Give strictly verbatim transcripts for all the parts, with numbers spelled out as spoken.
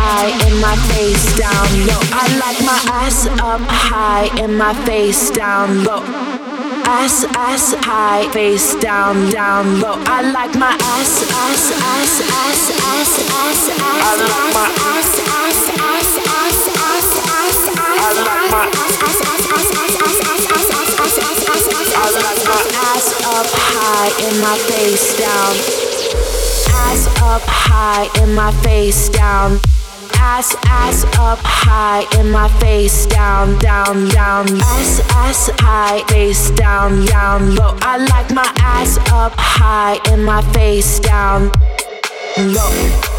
high and my face down low. I like my ass up high and my face down low. Ass, ass high, face down, down low. I like my ass, ass, ass, ass, ass, ass, ass. I like my ass, ass, ass, ass, ass, ass, ass. I like my ass, ass, ass, ass, ass, ass, ass, ass, ass, ass, ass. I like my ass up high and my face down. Ass up high and my face down. Ass, ass up high and my face down, down, down. Ass, ass high, face down, down low. I like my ass up high and my face down low.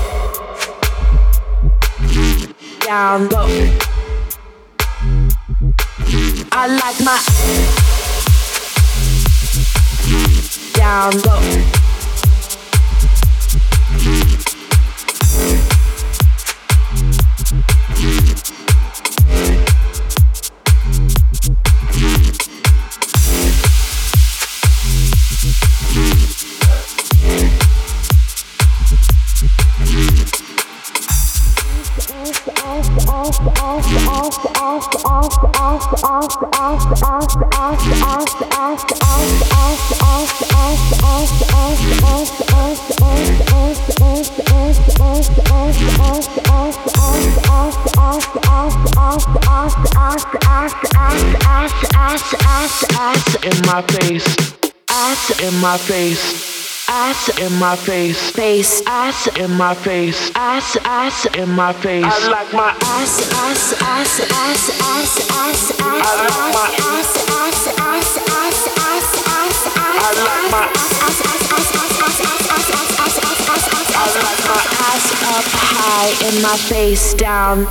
Down low. I like my down low. In my face, ass in my face, ass in my face, face, ass in my face, ass, ass in my face. I like my ass, ass, ass, ass, ass, ass, ass. I like my ass, ass, ass, ass, ass, ass, ass. I like my ass, ass, ass, ass, ass, ass, ass, ass, ass, ass. I like my ass up high and my face down.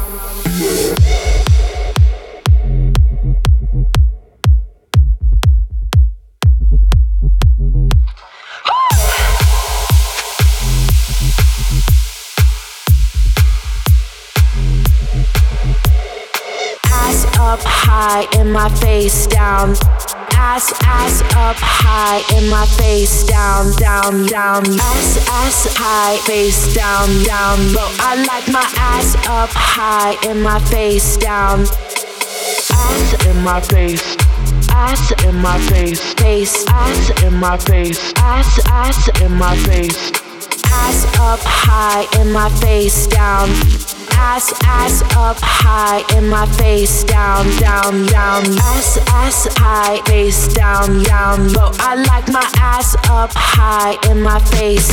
Up high and my face down. Ass, ass up high and my face down, down, down. Ass, ass high, face down, down low. I like my ass up high and my face down. Ass in my face, ass in my face, face, ass in my face, ass, ass in my face. Ass up high and my face down. Ass, ass up high and my face down, down, down. Ass, ass high, face down, down low. I like my ass up high and my face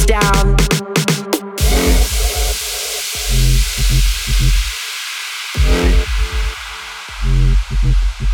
down.